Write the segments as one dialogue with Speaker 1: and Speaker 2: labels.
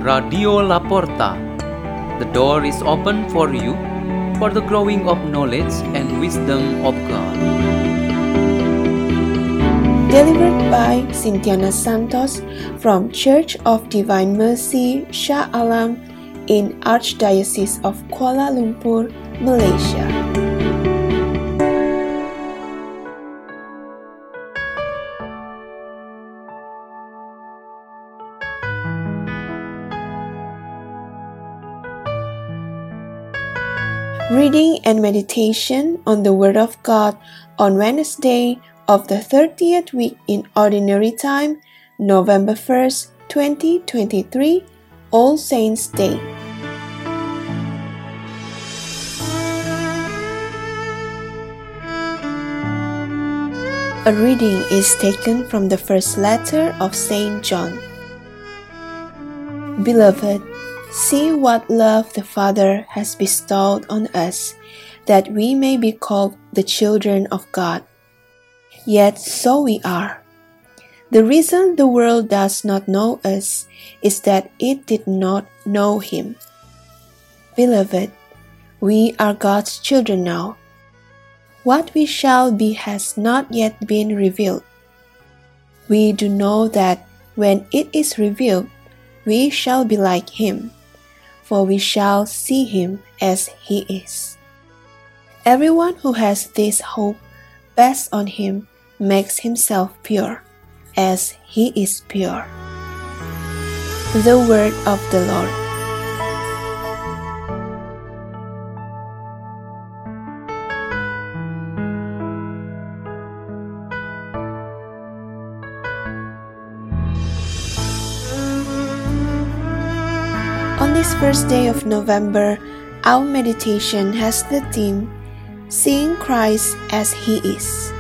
Speaker 1: Radio Laporta. The door is open for you for the growing of knowledge and wisdom of God.
Speaker 2: Delivered by Cynthiana Santos from Church of Divine Mercy, Shah Alam in Archdiocese of Kuala Lumpur, Malaysia. Reading and meditation on the Word of God on Wednesday of the 30th week in Ordinary Time, November 1st, 2023, All Saints' Day. A reading is taken from the first letter of Saint John. Beloved, see what love the Father has bestowed on us, that we may be called the children of God. Yet so we are. The reason the world does not know us is that it did not know Him. Beloved, we are God's children now. What we shall be has not yet been revealed. We do know that when it is revealed, we shall be like Him, for we shall see Him as He is. Everyone who has this hope based on Him makes himself pure, as He is pure. The Word of the Lord. On this first day of November, our meditation has the theme, Seeing Christ as He is.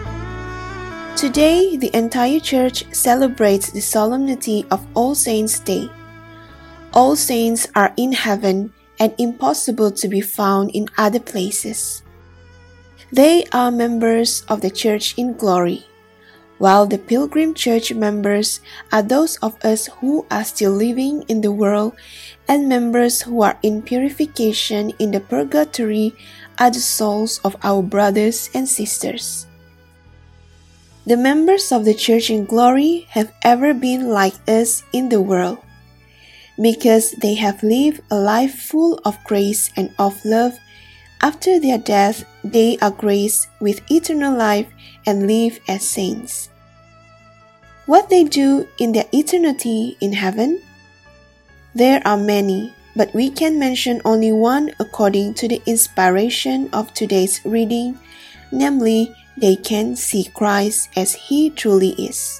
Speaker 2: Today, the entire Church celebrates the solemnity of All Saints' Day. All saints are in heaven and impossible to be found in other places. They are members of the Church in glory, while the Pilgrim Church members are those of us who are still living in the world, and members who are in purification in the purgatory are the souls of our brothers and sisters. The members of the Church in glory have ever been like us in the world, because they have lived a life full of grace and of love. After their death, they are graced with eternal life and live as saints. What they do in their eternity in heaven? There are many, but we can mention only one according to the inspiration of today's reading, namely, they can see Christ as He truly is.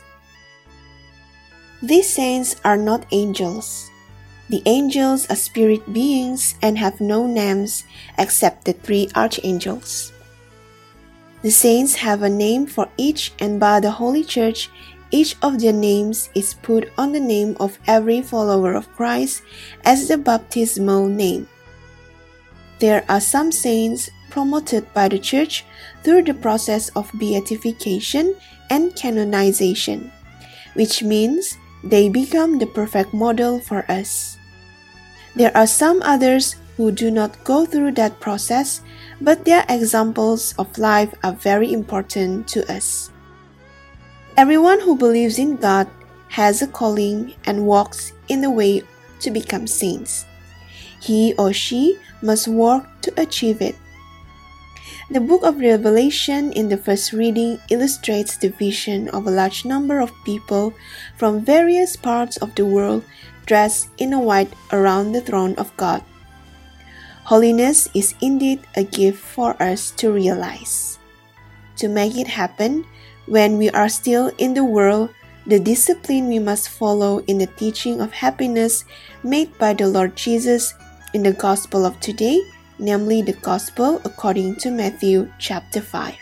Speaker 2: These saints are not angels. The angels are spirit beings and have no names except the three archangels. The saints have a name for each, and by the Holy Church, each of their names is put on the name of every follower of Christ as the baptismal name. There are some saints promoted by the Church through the process of beatification and canonization, which means they become the perfect model for us. There are some others who do not go through that process, but their examples of life are very important to us. Everyone who believes in God has a calling and walks in the way to become saints. He or she must work to achieve it. The book of Revelation in the first reading illustrates the vision of a large number of people from various parts of the world dressed in white around the throne of God. Holiness is indeed a gift for us to realize. To make it happen, when we are still in the world, the discipline we must follow in the teaching of happiness made by the Lord Jesus in the Gospel of today, namely the Gospel according to Matthew chapter 5.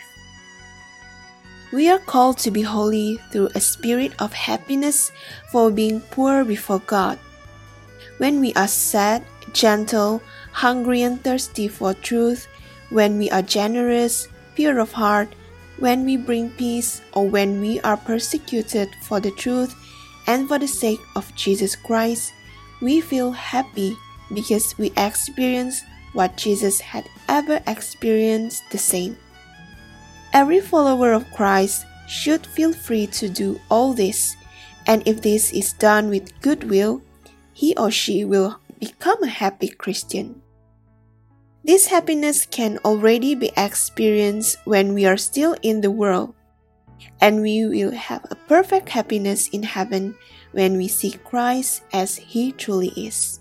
Speaker 2: We are called to be holy through a spirit of happiness for being poor before God. When we are sad, gentle, hungry and thirsty for truth, when we are generous, pure of heart, when we bring peace, or when we are persecuted for the truth and for the sake of Jesus Christ, we feel happy because we experience what Jesus had ever experienced the same. Every follower of Christ should feel free to do all this, and if this is done with goodwill, he or she will become a happy Christian. This happiness can already be experienced when we are still in the world, and we will have a perfect happiness in heaven when we see Christ as He truly is.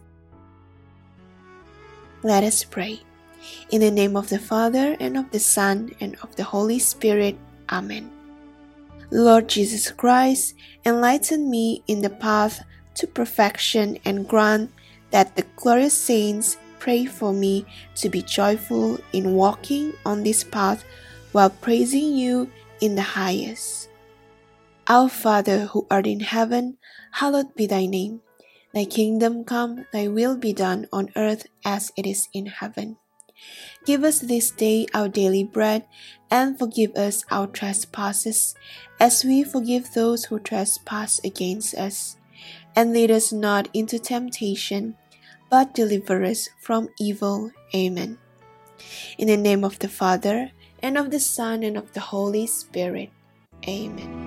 Speaker 2: Let us pray. In the name of the Father, and of the Son, and of the Holy Spirit. Amen. Lord Jesus Christ, enlighten me in the path to perfection and grant that the glorious saints pray for me to be joyful in walking on this path while praising you in the highest. Our Father who art in heaven, hallowed be thy name. Thy kingdom come, thy will be done on earth as it is in heaven. Give us this day our daily bread, and forgive us our trespasses, as we forgive those who trespass against us. And lead us not into temptation, but deliver us from evil. Amen. In the name of the Father, and of the Son, and of the Holy Spirit. Amen.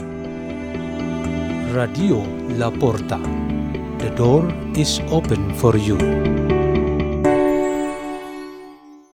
Speaker 3: Radio La Porta. The door is open for you.